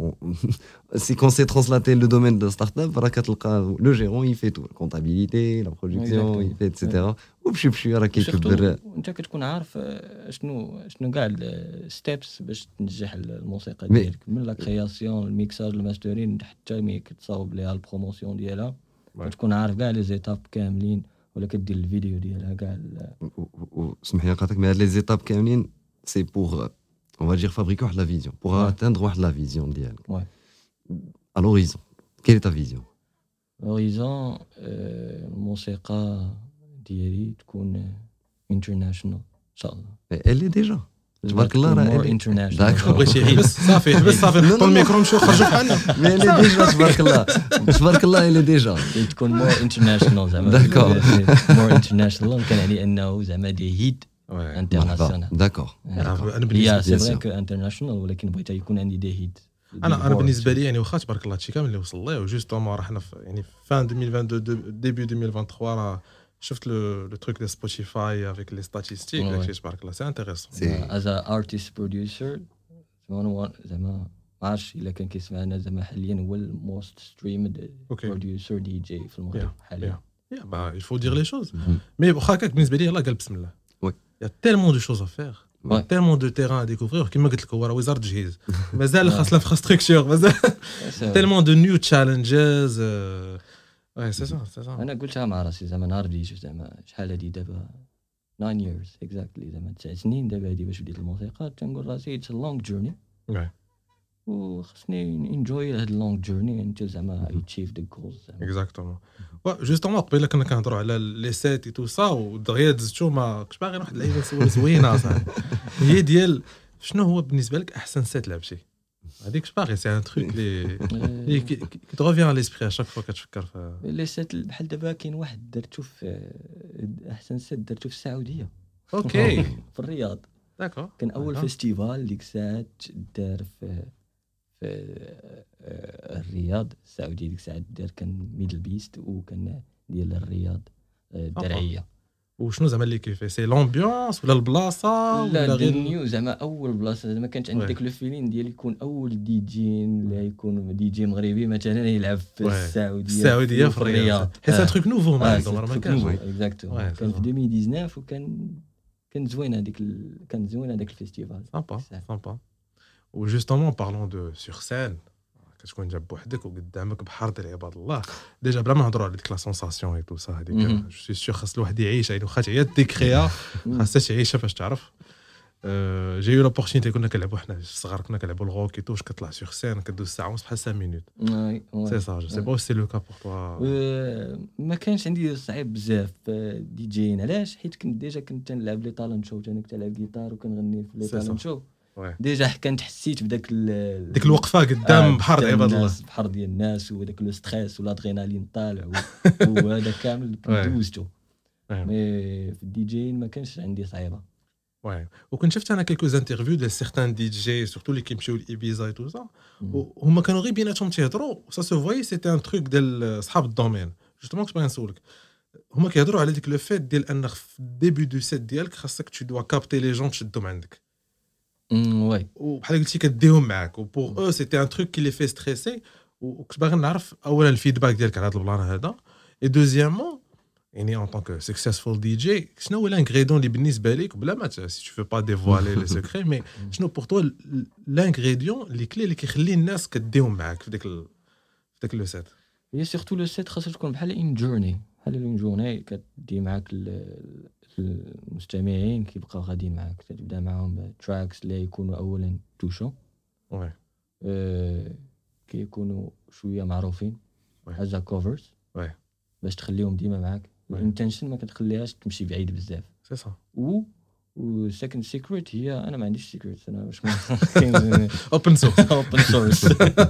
سي كون سي ترانسلاتي لو دومين دو ستارت اب راه كتلقى لو جيرون يفي تو الكونتابيليتي لا برودكسيون
Exactement.
يفي اتسيتيرا وبشي بشي راه كيكبر.
وسيرتو انت كتكون عارف آه، شنو شنو كاع الستيبس باش تنجح الموسيقى
مي-
ديالك من لا كرياسيون الميكساج الماسترين حتى ملي كتصاوب ليها البروموسيون ديالها
Ouais.
كتكون عارف كاع لي زيتاب كاملين ولا كدير الفيديو ديالها كاع ال-
وسمح لي نقاطعك مي هاد لي زيتاب كاملين سي بور on va dire fabriquer واحد لا فيزيون pour
Ouais.
atteindre واحد لا فيزيون ديالك.
Ouais.
À l'horizon quelle est ta vision?
هوريزون الموسيقى ديالي تكون انترناشونال ان شاء الله.
Elle est déjà. تبارك الله راه
مور
elle est-
انترناشونال.
D'accord.
بغيتي يحبس صافي حبس صافي
Non,
نحطوا
non,
الميكرو نمشيو نخرجوا بحالنا
mais elle est déjà تبارك الله تبارك الله elle est déjà.
تكون مور انترناشونال زعما
D'accord.
مور انترناشونال كان يعني انه زعما دي هيت انترناسيونال.
D'accord.
انا
هي
بالنسبه
سي
bien
فري
sûr.
كو انترناشونال ولكن بغيت يكون عندي دي هيت.
انا انا بالنسبه لي يعني واخا تبارك الله هادشي كامل اللي وصل ليه وجوستومون راه حنا في يعني فان ألفين واثنين وعشرين ديبي ألفين وثلاثة وعشرين راه شفت لو لو تروك دو سبوتيفاي افيك لي ستاتيستيك
Ouais.
داكشي تبارك الله سي انتريسون.
C'est-
از ارتست بروديوسر زعما زعما ما عرفتش الا كان كيسمعنا زعما حاليا هو الموست ستريمد
اوكي
بروديوسر دي جي في المغرب حاليا.
يا با il faut dire les choses mais واخا هكاك بالنسبه لي يلاه قال بسم الله.
Oui.
Il y a tellement de choses à faire.
Ouais.
tellement de terrain à découvrir كما قلت لك هو راه وزاره التجهيز مازال خاص الانفراستركتور مازال tellement de new challenges euh, ouais c'est ça c'est ça.
انا قلتها مع راسي زعما نهار بديت زعما شحال هادي دابا nine years exactly زعما تسع سنين دابا هادي باش بديت الموسيقى تنقول راسي اتس لونغ جورني
Ouais.
وخصني انجوي هاد اللونغ جورني انت زعما اتشيف ذا جولز زعما.
اكزاكتومون جوستومون قبيله كنا كنهضروا على لي سيت اي تو سا ودغيا دزتو ما كنتش باغي واحد اللعيبه سوا زوينه صاحبي هي ديال شنو هو بالنسبه لك احسن سيت لعبتي هذيك باغي سي ان تروك لي لي كي تروفيان على ليسبري اشاك فوا كتفكر في
لي سيت بحال دابا كاين واحد درتو في احسن سيت درتو في السعوديه
اوكي
في الرياض.
داكور
كان اول
آه.
فيستيفال ديك الساعات دار في في آه، الرياض السعوديه ديك الساعات دار كان ميدل بيست وكان ديال الرياض آه، الدرعيه.
وشنو زعما اللي كيفي سي لومبيونس ولا البلاصه
لا
ولا
غير
غير
نيو زعما اول بلاصه زعما كانت عندك
Ouais.
لو فيلين ديال يكون اول دي جي ولا يكون دي جي مغربي مثلا يلعب في
Ouais.
السعوديه
السعوديه في الرياض حيت ان تروك نوفو ما عندهم راه ما كانش
اكزاكتو
Ouais,
كان
c'est
في
ça.
ألفين وتسعطاش وكان كان زوين هذيك ال... كان زوين هذاك الفيستيفال.
سامبا
صح.
سامبا وجوستومون بارلون دو سور سين كتكون جاب بوحدك وقدامك بحر ديال عباد الله ديجا بلا ما نهضروا على ديك لا سونساسيون اي تو سا هذيك
مهم.
جو سي سيغ خاص الواحد يعيش يعني واخا تعيا ديكريا خاصها تعيشها باش تعرف. جاي لوبورتونيتي كنا كنلعبوا حنا الصغار كنا كنلعبوا الغوكي توش كطلع سيغ سين كدوز ساعه ونص بحال خمسة مينوت سي سا جو سي با سي لو كا بور توا.
ما كانش عندي صعيب بزاف دي جيين علاش حيت كنت ديجا كنت تنلعب لي طالون شو انا كنت نلعب جيتار وكنغني في لي
C'est
طالون
ça.
شو
Ouais.
ديجا كنت حسيت بداك ال-
ديك الوقفه قدام
آه،
بحر ديال عباد الله
الناس، بحر ديال الناس وداك لو ستريس والادرينالين طالع و- وهذا كامل
Ouais.
دوزتو.
Ouais.
مي في الدي جي ما كانش عندي صعيبه.
واي وكنت شفت انا كيلكو انترفيو ديال سيغتان دي جي سورتو اللي كيمشيو لايبيزا اي تو سا وهما كانوا غير بيناتهم تيهضروا سا سو فواي سيتي ان تروك ديال صحاب الدومين جوستومون كنت باغي نسولك هما كيهضروا على ديك لو فيت ديال ان في الديبي دو سيت ديالك خاصك تو دوا كابتي لي جون تشدهم عندك
وي
وبحال قلتي كديهم معاك وبور او سيتي ان تروك كي لي في ستريسي وكنت باغي نعرف اولا الفيدباك ديالك على هذا البلان هذا اي دوزيامون يعني ان طونك سكسيسفول دي جي شنو هو الانغريدون اللي بالنسبه لك بلا ما سي تو فو با ديفوالي لي سيكري مي شنو بور توا الانغريديون اللي كلي اللي كيخلي الناس كديهم معاك في ديك ال... في ديك لو سيت.
هي سيرتو لو سيت خاصها تكون بحال ان جورني بحال اون جورني كتدي معاك المستمعين كيبقاو غاديين معاك تبدا معاهم تراكس اللي يكونوا اولا توشو
وي
أه كيكونوا شويه معروفين هذا كوفرز
وي
باش تخليهم ديما معاك الانتنشن ما كتخليهاش تمشي بعيد بزاف
سي صا
و و سكند سيكريت هي انا ما عنديش سيكريت انا واش
اوبن سورس
اوبن سورس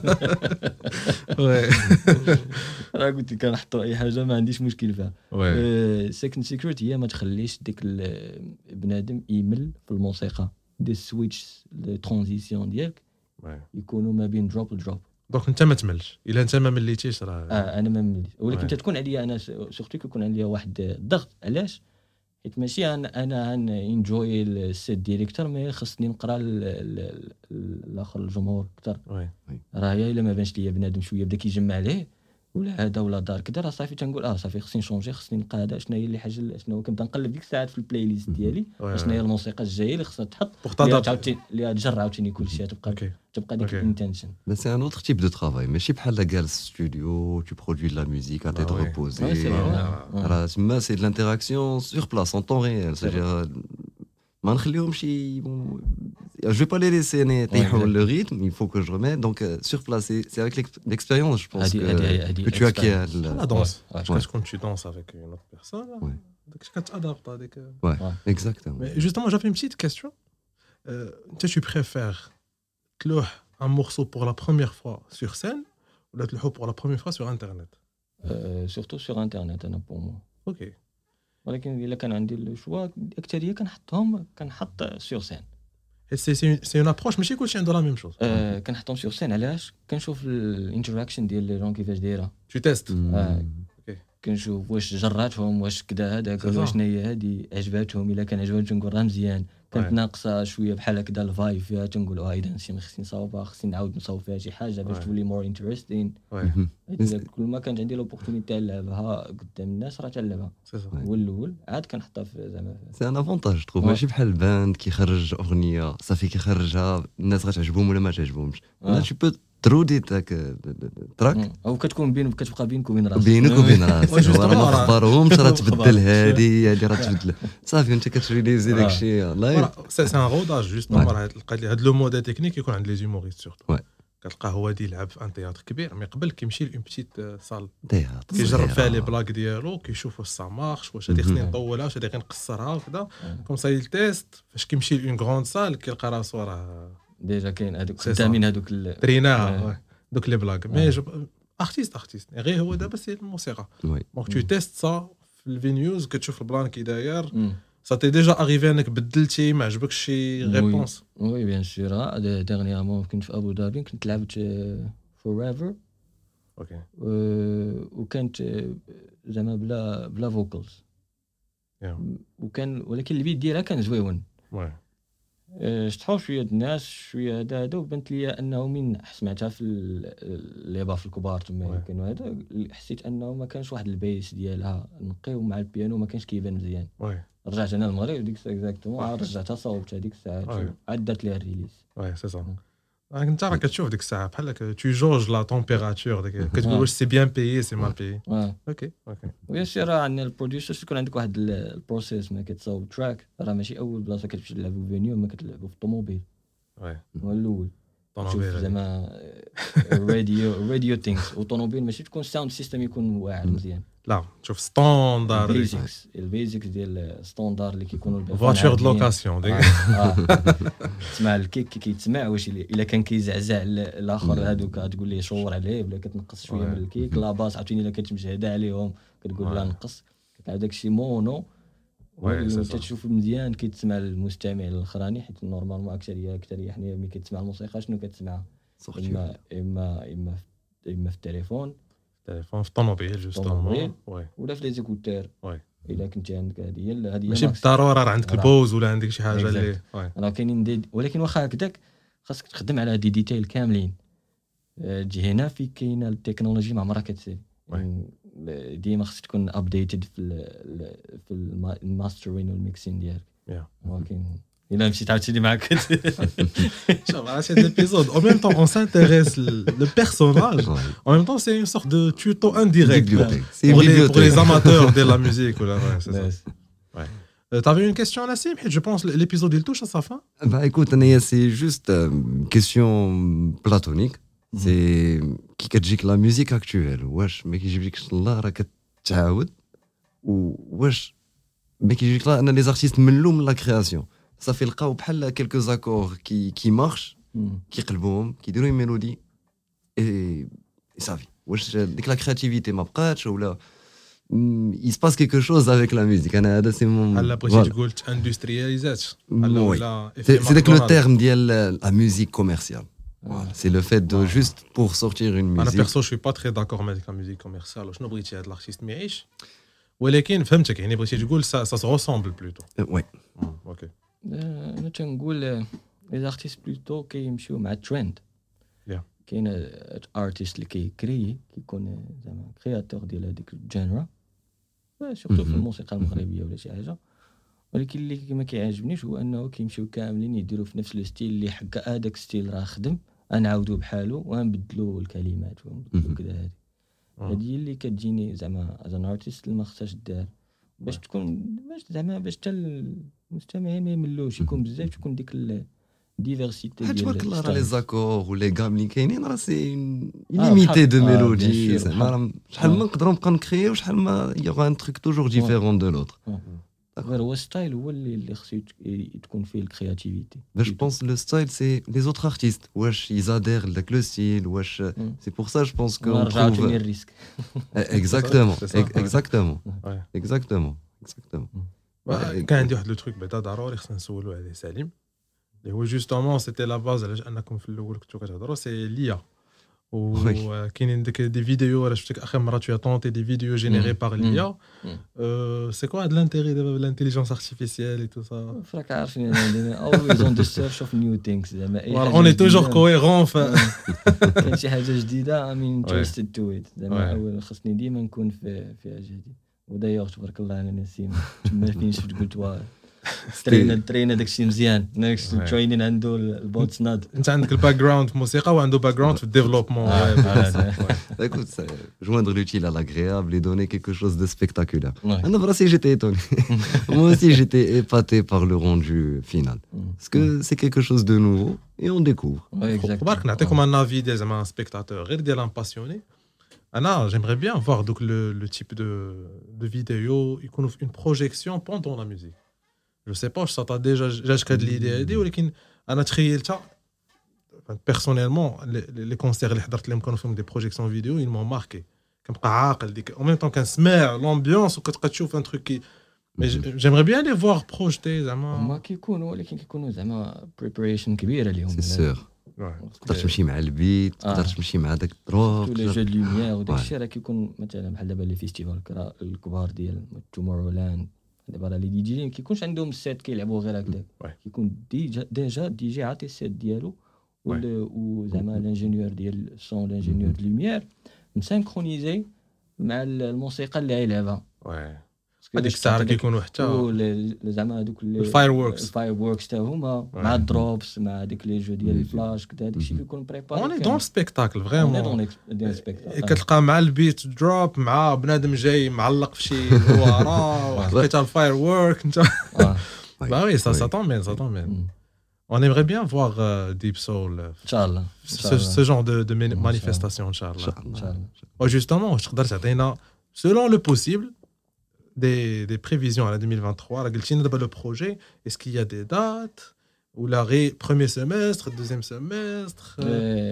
وي
راه قلت لك كنحطوا اي حاجه ما عنديش مشكل فيها
وي
سكند سيكريت هي ما تخليش ديك البنادم يمل في الموسيقى دي السويتش لي ترانزيسيون ديالك يكونوا ما بين دروب ودروب
دونك انت ما تملش الا انت ما مليتيش راه
اه انا ما مليت ولكن تكون عليا انا سورتو كيكون عليا واحد الضغط علاش حيت ماشي انا انا انجوي السيت ديالي اكثر ما خصني نقرا الاخر الجمهور اكثر راه الا ما بانش ليا بنادم شويه بدا كيجمع عليه ولا هذا ولا دار كذا راه صافي تنقول اه صافي خصني نشونجي خصني نلقى هذا شنو هي اللي حاجه شنو كنبدا نقلب ديك الساعات في البلاي ليست ديالي شنو هي الموسيقى الجايه اللي خصها تحط عاوتاني اللي تجرع عاوتاني كلشي تبقى تبقى ديك الانتنشن
بس سي ان اوتر تيب دو ترافاي ماشي بحال جالس ستوديو تو برودوي لا ميوزيك ا تيت ريبوزي راه تما سي دو لانتراكسيون سور بلاص اون طون ريال سيجير ما نخليهمش je vais pas les laisser t'aider le rythme il faut que je remette donc euh, sur place c'est, c'est avec l'expérience je pense que, que tu acquiers
la danse ouais. quand tu danses avec une autre personne
ouais.
donc tu t'adaptes avec
ouais, ouais exactement
mais justement j'avais une petite question euh, tu préfères تلوح un morceau pour la première fois sur scène ou la تلوحو pour la première fois sur internet
euh, surtout sur internet انا pour moi
ok
ولكن الا كان عندي الشوا اكثريه كنحطهم كنحط سور سين
سي سي سي اون ابروش ماشي كلشي عنده لا ميم شوز
اه كنحطهم سور سين علاش كنشوف الانتراكشن ديال لي جون كيفاش دايره
تو تيست
اه كنشوف واش جراتهم واش كذا هذاك واش شنو هي هذه عجباتهم الا كان عجباتهم نقول راه مزيان كانت ناقصه شويه بحال هكذا الفايب فيها تنقول اه اذا شي خصني نصاوبها خصني نعاود نصاوب فيها شي حاجه باش تولي مور انتريستين كل ما كانت عندي لوبورتونيتي نلعبها قدام الناس راه تلعبها هو الاول عاد كنحطها في زعما
سي ان افونتاج تروف ماشي بحال الباند كيخرج اغنيه صافي كيخرجها الناس غتعجبهم ولا ما تعجبهمش لا tu peux ترودي تاك تراك
او كتكون بين كتبقى بينك وبين راسك
بينك وبين راسك ما اخبارهمش راه تبدل هذه هذه راه تبدل صافي انت كتريليزي داكشي لايف
سي ان روداج جوستومون راه لقيت لي هذا لو مود تكنيك يكون عند لي زوموريست سورتو كتلقاه هو دي يلعب في ان تياتر كبير مي قبل كيمشي لون بتيت سال
تياتر
كيجرب فيها لي بلاك ديالو كيشوف واش سا مارش واش هادي خصني نطولها واش هادي غير نقصرها وكذا كوم سا يلتيست فاش كيمشي لون غروند سال كيلقى راسو راه
ديجا كاين هذوك خدامين هذوك
تريناها دوك لي بلاك مي ارتيست ارتيست غير هو دابا سي الموسيقى دونك تو تيست سا في الفينيوز كتشوف البلان كي داير ça t'est déjà arrivé انك بدلتي ما عجبكش شي ريبونس
وي بيان سور ديرنييرمون كنت في ابو ظبي كنت لعبت فورايفر
اوكي
وكانت زعما بلا بلا فوكالز وكان ولكن البيت ديالها كان زويون
وي
شطحوا شويه الناس شويه هذا هذا وبنت لي انه من سمعتها في لي باف الكبار تما كانوا هذا حسيت انه ما كانش واحد البيس ديالها نقي ومع البيانو ما كانش كيبان مزيان رجعت انا للمغرب ديك الساعه اكزاكتومون عاد رجعتها صوبت هذيك الساعه عاد درت ليها الريليز
وي سي صا انت راه كتشوف ديك الساعه بحال هكا تو جوج لا تمبيراتور ديك كتقول واش سي بيان بيي سي مال بيي اوكي اوكي
ويا سي راه عندنا البروديوسر يكون عندك واحد البروسيس ما كتصاوب تراك راه ماشي اول بلاصه كتمشي تلعبوا فينيو ما كتلعبوا في الطوموبيل
وي
هو الاول
طوموبيل
زعما راديو راديو ثينكس والطوموبيل ماشي تكون ساوند سيستم يكون واعر مزيان
لا شوف ستاندار
البيزكس البيزكس ديال الستاندار اللي كيكونوا
فواتور دو لوكاسيون ديك
تسمع الكيك كي كيتسمع واش الا كان كيزعزع الاخر هذوك تقول ليه شور عليه بلا كتنقص شويه من الكيك لا باس عاوتاني الا كتمشي هدا عليهم كتقول لا نقص كتلعب داكشي مونو تشوف مزيان كيتسمع المستمع الاخراني حيت نورمالمون اكثريه اكثريه حنا ملي كتسمع الموسيقى شنو كتسمع اما اما اما اما في التليفون
تليفون في الطوموبيل جوستومون
وي ولا في لي زيكوتور
وي
الا كنتي عندك هذه هذه
ماشي بالضروره راه عندك البوز ولا عندك شي حاجه اللي
راه كاينين ولكن واخا هكذاك خاصك تخدم على دي ديتيل كاملين تجي هنا في كاينه التكنولوجي ما عمرها كتسير ديما خاصك تكون ابديتد في ال في الماسترين والميكسين ديالك ولكن الا مشيت عاوتاني معاك
شوف على cet épisode en même temps on s'intéresse le, le personnage
Ouais.
en même temps c'est une sorte de tuto indirect
Bibliothèque.
pour,
C'est une
les, pour
bibliothèque.
les amateurs de la musique ou là, ouais, c'est ça.
Yes.
Ouais. Euh, t'avais une question Nassim? Je pense que l'épisode il touche à sa fin.
Bah écoute, Anaya, c'est juste euh, une question platonique. C'est qui كتجيك la musique actuelle. واش ما كيجيبلكش الله راه كتعاود واش ما كيجيك لا ان les artistes ملوا من la création. صافي لقاو بحال quelques accords qui qui marchent كيقلبوهم كيديروا une mélodie et et صافي. واش ديك la créativité ما بقاتش ولا il se passe quelque chose avec la musique. انا هذا سي مون
هلا بغيتي تقول اندسترياليزات هلا
Oui.
ولا
C'est c'est avec le terme ديال la musique commerciale. Voilà. C'est le fait de juste pour sortir une
انا
musique.
perso je suis pas très d'accord avec la musique commerciale شنو بغيتي هذا الارتيست ما يعيش ولكن فهمتك يعني بغيتي تقول ça ça se ressemble plutôt.
Euh, Ouais.
اوكي
انا تنقول لي زارتيست بلوتو كيمشيو مع الترند.
Yeah.
كاين ارتيست اللي كيكري كيكون زعما كرياتور ديال هذيك الجانرا سورتو في الموسيقى المغربيه ولا شي حاجه ولكن اللي ما كيعجبنيش هو انه كيمشيو كاملين يديروا في نفس الستيل اللي حكا هذاك ستيل راه خدم غنعاودو بحالو ونبدلوا الكلمات ونبدلوا كذا. هذه هذه اللي كتجيني زعما از ان ارتيست اللي ما خصهاش دار باش تكون باش زعما باش حتى المستمعين ما يملوش يكون بزاف تكون ديك الديفيرسيتي
حيت
ديال
تبارك الله راه لي
الستايل.
زاكور ولي غام اللي كاينين راه سي
Ah,
illimité de
ah, bien
mélodies.
sûr.
زعما راه شحال
Ah.
ما نقدروا نبقى نكريو شحال ما il y aura un truc toujours différent de l'autre.
غير هو ستايل هو اللي اللي خصو يت- تكون فيه الكرياتيفيتي.
Mais je pense que le style c'est les autres artistes. Wesh, ils adhèrent avec le style. Wesh, c'est pour ça je pense qu'on
ونرجعوا
trouve
تاني الريسك.
exactement,
C'est ça,
ex-
ouais.
exactement,
Ouais.
exactement, exactement.
كان عندي واحد لو تروك بعدا ضروري خصنا نسولو عليه سليم اللي هو جوستومون سيتي لا باز علاش انكم في الاول كنتو كتهضروا سي ليا وكاينين ديك دي فيديو راه شفتك اخر مره tu as tenté des vidéos générées par l'I A. C'est quoi l'intérêt de l'intelligence artificielle et tout ça?
راك عارفين عندنا always on the search of new things زعما اي حاجه
On est toujours
جديدة.
cohérent ف
كاين شي حاجه جديده I'm interested to it زعما
Ouais.
اول خصني ديما نكون في فيها جديد. ودايوغ تبارك الله على نسيم تما فين شفت قلت واه ترينا ترينا داكشي مزيان ناكس ترينين عنده البوتس ناد.
انت عندك الباك جراوند في الموسيقى وعنده باك جراوند في الديفلوبمون.
Écoute, c'est joindre l'utile à l'agréable et donner quelque chose de spectaculaire.
Ouais.
Ah non, voilà, si j'étais étonné. Moi aussi, j'étais épaté par le rendu final. Parce que c'est quelque chose de nouveau et on découvre.
Ouais, exactement.
خبارك نعطيكم ان افي ديال زعما سبيكتاتور غير ديال ان باسيوني. انا j'aimerais bien voir donc le le type de de vidéo يكونوا في une projection pendant la musique. Je sais pas ça t'a déjà جاتك هاد l'idée هادي ولكن انا تخيلتها personnellement les concerts اللي حضرت لهم كانوا فيهم دي بروجيكسيون فيديو ils m'ont marqué. كنبقى عاقل ديك en même temps كنسمع l'ambiance وكتبقى تشوف un truc qui mais j'aimerais bien les voir projeter زعما.
هما كيكونوا ولكن كيكونوا زعما preparation كبيره ليهم.
C'est sûr. تقدر تمشي مع البيت تقدر تمشي مع داك الدروب
تو لي جو دو لوميير وداك الشيء راه كيكون مثلا بحال دابا لي فيستيفال الكبار ديال تومورو لاند دابا راه لي دي جي ما كيكونش عندهم السيت كيلعبوا غير هكذاك كيكون ديجا ديجا دي جي عاطي السيت ديالو وزعما لانجينيور ديال الصون لانجينيور دو لوميير مسانكرونيزي مع الموسيقى اللي غيلعبها.
هذيك الساعه كيكونوا حتى
زعما هذوك
الفاير ووركس
الفاير ووركس تا هما مع الدروبس مع ديك لي جو ديال الفلاش كذا داك الشيء كيكون بريباري.
اوني دون سبيكتاكل فريمون
سبيكتاكل
كتلقى مع البيت دروب مع بنادم جاي معلق في شي ورا وحطيتها الفاير وورك انت با وي سا سا طومبين سا طومبين. On aimerait bien voir euh, Deep Soul
ان شاء الله
ce, ce genre de, de manifestation ان شاء الله.
ان شاء الله.
وجوستومون واش تقدر تعطينا selon le possible des des prévisions à la deux mille vingt-trois راه قلتي لنا دابا لو بروجي est-ce qu'il y a des dates ou la premier semestre deuxième semestre.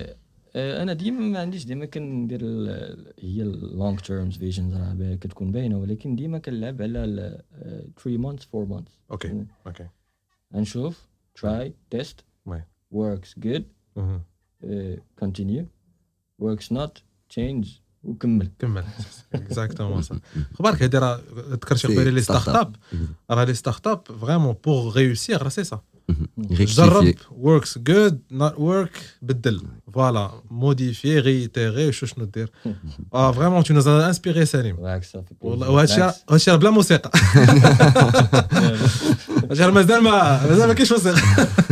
انا ديما ما عنديش ديما كندير هي اللونج تيرمز فيجنز راه كتكون باينه ولكن ديما كنلعب على ثلاثة مانثs four months.
اوكي اوكي
نشوف try test works good continue works not change وكمل
كمل اكزاكتومون صح. خبارك هادي راه ذكرتي قبيله لي ستارت اب راه لي ستارت اب فريمون بور ريوسير راه سي سا جرب works good not work بدل voilà modifier réitérer شو شنو دير اه vraiment tu nous as inspiré سليم والله وهادشي هادشي بلا موسيقى هادشي مازال ما مازال ما كاينش موسيقى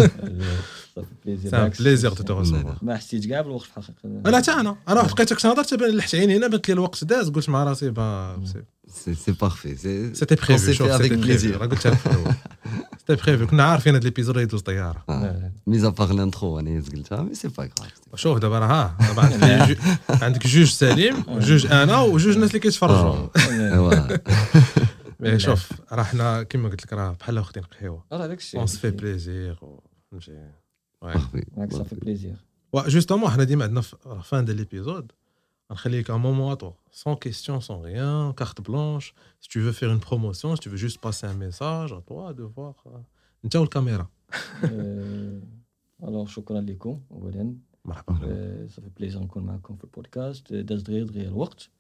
سي بليزير تو ترسوفوار
ما حسيتش كاع بالوقت في الحقيقه
انا حتى انا انا واحد بقيت كنهضر حتى لحت عيني هنا بانت لي الوقت داز قلت مع راسي با
سي سي بارفي سي
سيتي بريفي
سيتي افيك بليزير
راه قلت لك سيتي بريفي كنا عارفين هاد ليبيزود يدوز طياره
ميزا باغ لانترو انا قلتها مي سي با غراف
شوف دابا راه ها عندك جوج سليم وجوج انا وجوج الناس اللي كيتفرجوا مي شوف راه حنا كيما قلت لك راه بحال واخدين قهوه
راه داكشي
اون سي في بليزير فهمتي
راك صافي بليزير
وا جوستومون حنا ديما عندنا فان ديال ليبيزود نخليك un moment à toi sans question sans rien carte blanche si tu veux faire une promotion si tu veux juste passer un message à toi de voir انت والكاميرا
alors شكرا لكم اولا
مرحبا
صافي بليزير نكون معكم في البودكاست داز دغيا دغيا الوقت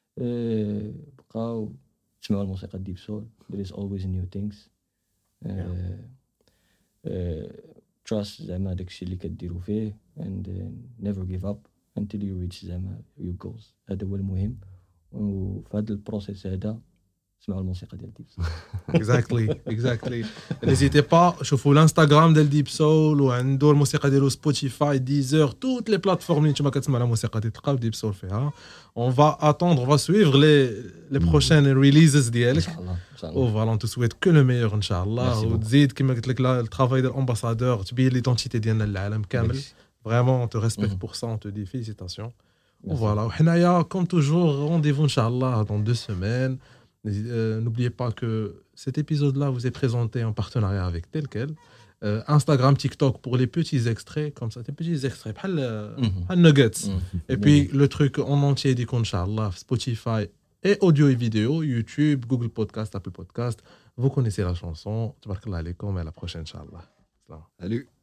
بقاو تسمعوا الموسيقى ديب سول there is always new things trust زعما داكشي اللي كديروا فيه and uh, never give up until you reach زعما your goals هذا هو المهم وفي هذا البروسيس هذا سمعوا الموسيقى ديال ديب سول
اكزاكتلي اكزاكتلي نيزيتي با شوفوا الانستغرام ديال ديب سول وعنده الموسيقى ديالو سبوتيفاي ديزر توت لي بلاتفورم اللي نتوما كتسمعوا الموسيقى ديال تلقاو ديب سول فيها اون فا اتوندر فا سويفر لي لي بروشين ريليزز ديالك
ان شاء الله ان شاء
او
الله
فالون تو سويت كو لو ميور ان شاء الله وتزيد كما قلت لك الترافاي ديال الامباسادور تبين ليدونتيتي ديالنا للعالم كامل فريمون تو ريسبكت بور سا اون تو دي فيليسيتاسيون فوالا وحنايا كوم توجور رونديفو ان شاء الله دون دو سيمين. Euh, n'oubliez pas que cet épisode-là vous est présenté en partenariat avec tel quel. Euh, Instagram, TikTok pour les petits extraits, comme ça, des petits extraits, pas le nuggets. Et puis le truc en entier dit qu'Inch'Allah, Spotify et audio et vidéo, YouTube, Google Podcast, Apple Podcast. Vous connaissez la chanson. Tabarakallah alaikum et à la prochaine, Inch'Allah.
Salut.